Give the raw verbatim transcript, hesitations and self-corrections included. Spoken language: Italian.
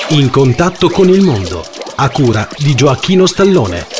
In contatto con il mondo, a cura di Gioacchino Stallone.